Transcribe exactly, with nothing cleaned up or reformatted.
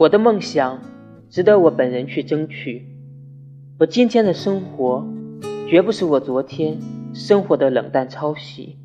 我的梦想值得我本人去争取。我今天的生活绝不是我昨天生活的冷淡抄袭。